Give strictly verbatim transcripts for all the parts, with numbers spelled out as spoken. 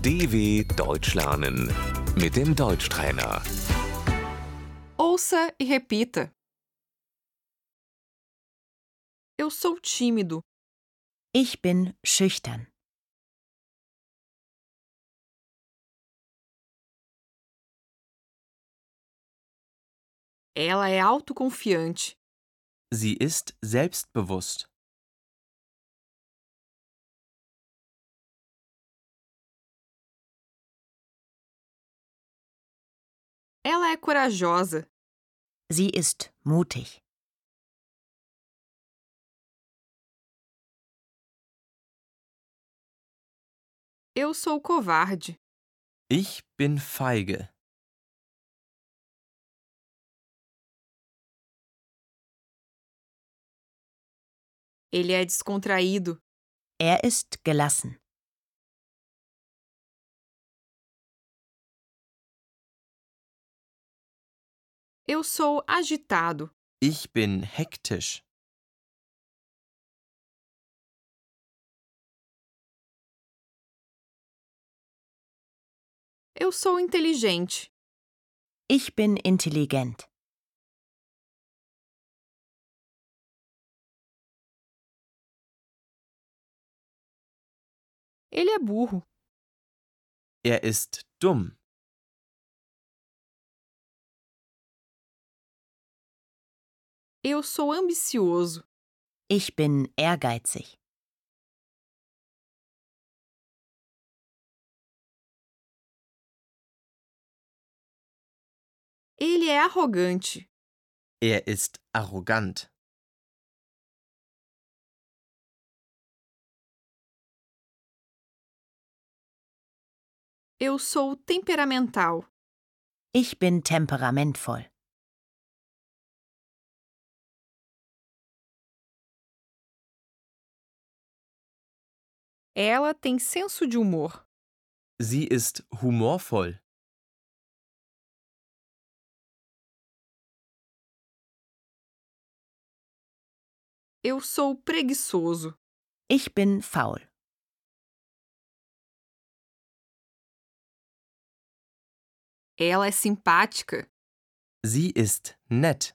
D W Deutsch lernen mit dem Deutschtrainer. Ouça e repita. Eu sou tímido. Ich bin schüchtern. Ela é autoconfiante. Sie ist selbstbewusst. Ela é corajosa. Sie ist mutig. Eu sou covarde. Ich bin feige. Ele é descontraído. Er ist gelassen. Eu sou agitado. Ich bin hektisch. Eu sou inteligente. Ich bin intelligent. Ele é burro. Er ist dumm. Eu sou ambicioso. Ich bin ehrgeizig. Ele é arrogante. Er ist arrogant. Eu sou temperamental. Ich bin temperamentvoll. Ela tem senso de humor. Sie ist humorvoll. Eu sou preguiçoso. Ich bin faul. Ela é simpática. Sie ist nett.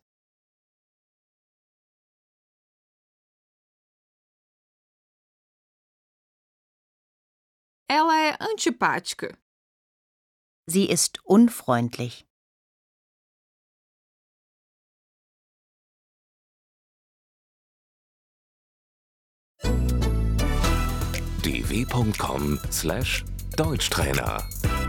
Ela é antipática. Sie ist unfreundlich. d w punkt com slash Deutschtrainer